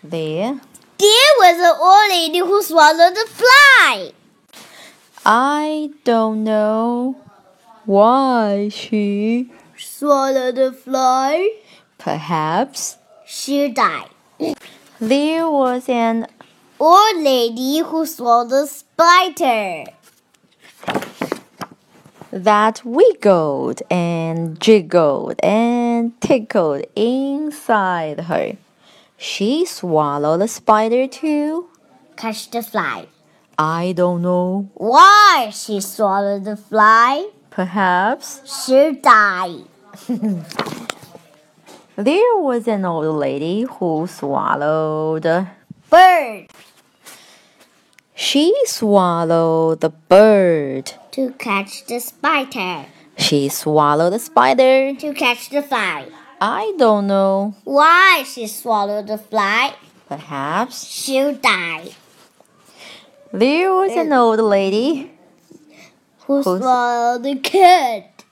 There was an old lady who swallowed a fly. I don't know why she Swallowed a fly. perhaps She died. there was an Old lady who swallowed a spider. that wiggled and jiggled and tickled inside her. She swallowed the spider too. Catch the fly. I don't know. Why she swallowed the fly? Perhaps She died. there was an old lady who swallowed. Bird. She swallowed the bird. To catch the spider. She swallowed the spider. To catch the fly. I don't know. Why she swallowed the fly? Perhaps She died. there was an old lady Who swallowed the cat?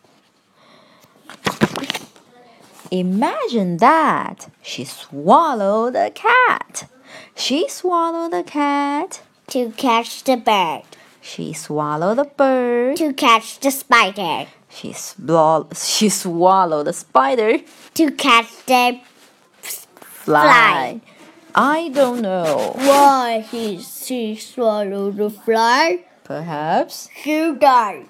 Imagine that. She swallowed a cat. She swallowed the cat. To catch the bird. She swallowed the bird. To catch the spider. She swallowed the spider. To catch the Fly. I don't know. Why she swallowed the fly? Perhaps She died.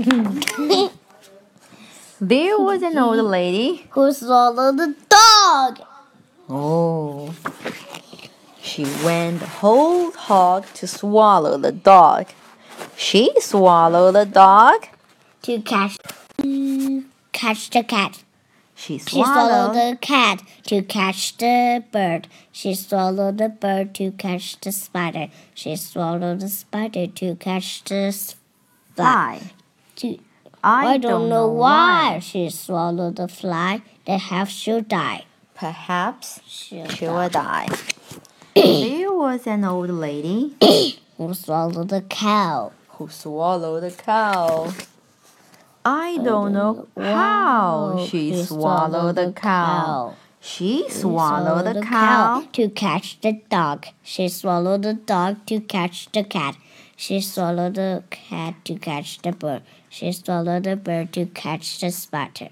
there was an old lady. Who swallowed the dog? Oh. She went whole hog to swallow the dog. She swallowed the dog. To catch the cat. She She swallowed the cat to catch the bird. She swallowed the bird to catch the spider. She swallowed the spider to catch the fly. I don't know why she swallowed the fly. They have she die. Perhaps She she will die. There was an old lady who swallowed the cow. who swallowed a cow. I don't know how she swallowed the cow. She swallowed the cow to catch the dog. She swallowed the dog to catch the cat. She swallowed the cat to catch the bird. She swallowed the bird to catch the spider.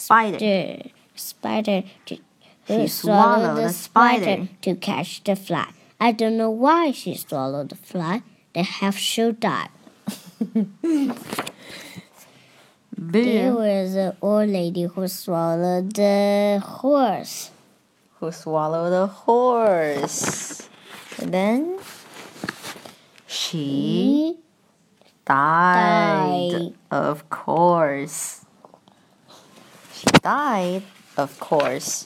She swallowed the spider to catch the fly. I don't know why she swallowed the fly. They have she died. There was an old lady who swallowed the horse. Who swallowed a horse. And then she died. Of course. She died, of course.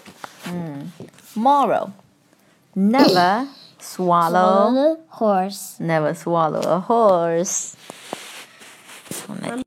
Moral. Never swallow horse. Never swallow a horse.